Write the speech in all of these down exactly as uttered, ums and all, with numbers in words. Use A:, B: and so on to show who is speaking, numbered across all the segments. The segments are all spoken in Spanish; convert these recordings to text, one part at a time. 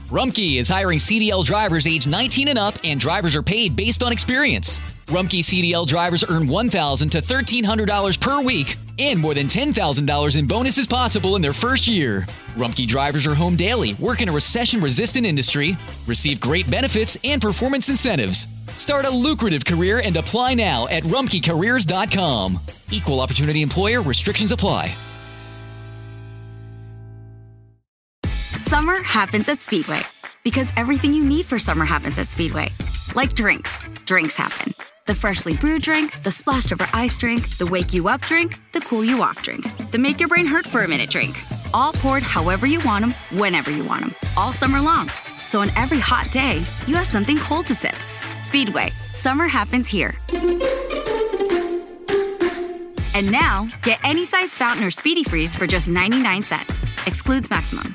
A: Rumpke is hiring C D L drivers age nineteen and up, and drivers are paid based on experience. Rumpke C D L drivers earn one thousand dollars to thirteen hundred dollars per week, and more than ten thousand dollars in bonuses possible in their first year. Rumpke drivers are home daily, work in a recession-resistant industry, receive great benefits and performance incentives. Start a lucrative career and apply now at rumpke careers dot com. Equal opportunity employer. Restrictions apply.
B: Summer happens at Speedway because everything you need for summer happens at Speedway. Like drinks. Drinks happen. The freshly brewed drink, the splashed over ice drink, the wake you up drink, the cool you off drink, the make your brain hurt for a minute drink. All poured however you want them, whenever you want them, all summer long. So on every hot day, you have something cold to sip. Speedway. Summer happens here. And now, get any size fountain or Speedy Freeze for just ninety-nine cents. Excludes maximum.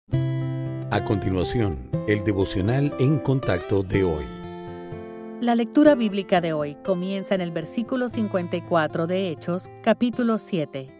C: A continuación, el devocional en contacto de hoy.
D: La lectura bíblica de hoy comienza en el versículo cincuenta y cuatro de Hechos, capítulo siete.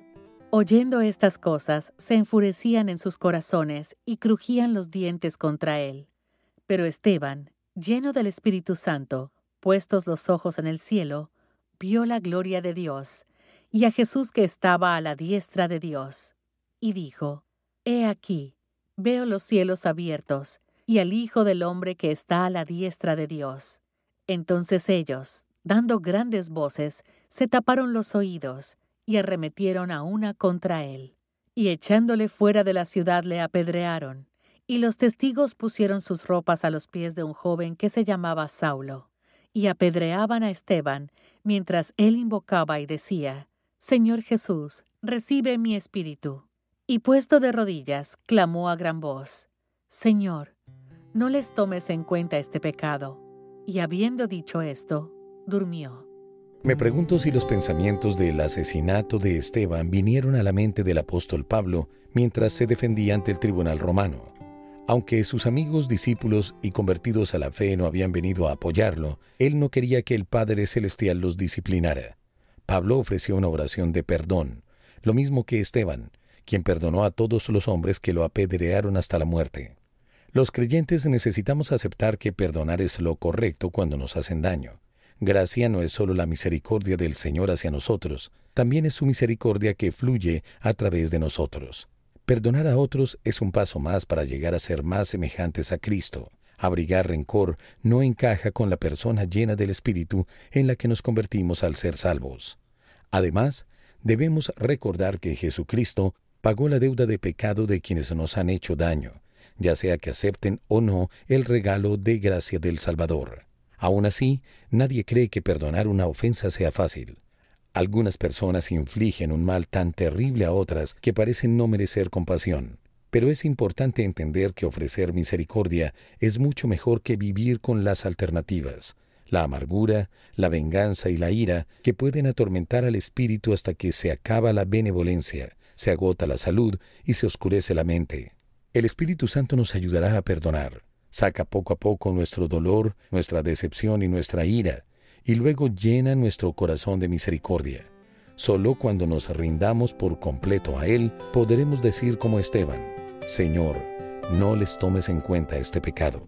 D: Oyendo estas cosas, se enfurecían en sus corazones y crujían los dientes contra él. Pero Esteban, lleno del Espíritu Santo, puestos los ojos en el cielo, vio la gloria de Dios y a Jesús que estaba a la diestra de Dios. Y dijo, He aquí, veo los cielos abiertos y al Hijo del Hombre que está a la diestra de Dios. Entonces ellos, dando grandes voces, se taparon los oídos y arremetieron a una contra él. Y echándole fuera de la ciudad le apedrearon. Y los testigos pusieron sus ropas a los pies de un joven que se llamaba Saulo. Y apedreaban a Esteban, mientras él invocaba y decía, Señor Jesús, recibe mi espíritu. Y puesto de rodillas, clamó a gran voz, Señor, no les tomes en cuenta este pecado. Y habiendo dicho esto, durmió.
C: Me pregunto si los pensamientos del asesinato de Esteban vinieron a la mente del apóstol Pablo mientras se defendía ante el tribunal romano. Aunque sus amigos, discípulos y convertidos a la fe no habían venido a apoyarlo, él no quería que el Padre Celestial los disciplinara. Pablo ofreció una oración de perdón, lo mismo que Esteban, quien perdonó a todos los hombres que lo apedrearon hasta la muerte. Los creyentes necesitamos aceptar que perdonar es lo correcto cuando nos hacen daño. Gracia no es solo la misericordia del Señor hacia nosotros, también es su misericordia que fluye a través de nosotros. Perdonar a otros es un paso más para llegar a ser más semejantes a Cristo. Abrigar rencor no encaja con la persona llena del Espíritu en la que nos convertimos al ser salvos. Además, debemos recordar que Jesucristo pagó la deuda de pecado de quienes nos han hecho daño, ya sea que acepten o no el regalo de gracia del Salvador. Aún así, nadie cree que perdonar una ofensa sea fácil. Algunas personas infligen un mal tan terrible a otras que parecen no merecer compasión. Pero es importante entender que ofrecer misericordia es mucho mejor que vivir con las alternativas, la amargura, la venganza y la ira, que pueden atormentar al espíritu hasta que se acaba la benevolencia, se agota la salud y se oscurece la mente. El Espíritu Santo nos ayudará a perdonar. Saca poco a poco nuestro dolor, nuestra decepción y nuestra ira, y luego llena nuestro corazón de misericordia. Solo cuando nos rindamos por completo a Él, podremos decir como Esteban, Señor, no les tomes en cuenta este pecado.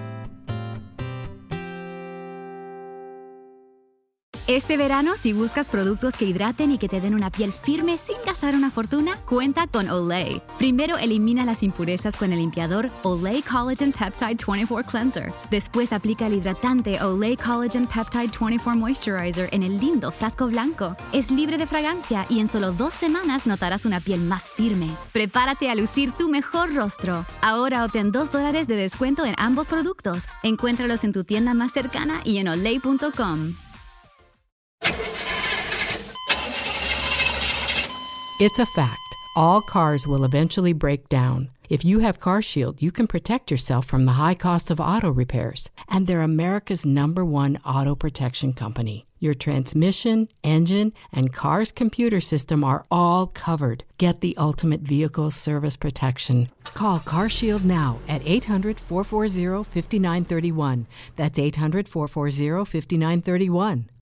B: Este verano, si buscas productos que hidraten y que te den una piel firme sin gastar una fortuna, cuenta con Olay. Primero, elimina las impurezas con el limpiador Olay Collagen Peptide veinticuatro Cleanser. Después, aplica el hidratante Olay Collagen Peptide veinticuatro Moisturizer en el lindo frasco blanco. Es libre de fragancia y en solo dos semanas notarás una piel más firme. Prepárate a lucir tu mejor rostro. Ahora obtén dos dólares de descuento en ambos productos. Encuéntralos en tu tienda más cercana y en olay punto com.
E: It's a fact. All cars will eventually break down. If you have CarShield, you can protect yourself from the high cost of auto repairs. And they're America's number one auto protection company. Your transmission, engine, and car's computer system are all covered. Get the ultimate vehicle service protection. Call CarShield now at eight hundred, four four zero, five nine three one. That's eight hundred, four four zero, five nine three one.